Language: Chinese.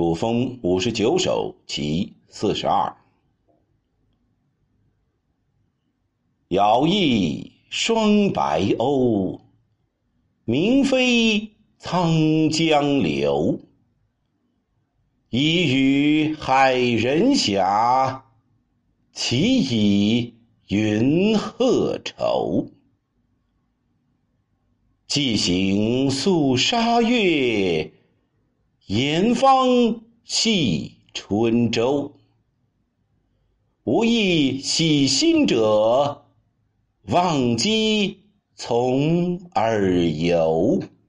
古风59首其42。杳翼双白鸥，鸣飞沧江流。已与海人遐，其以云鹤愁。既行宿沙月，沿芳系春舟。无意喜心者，忘机从而游。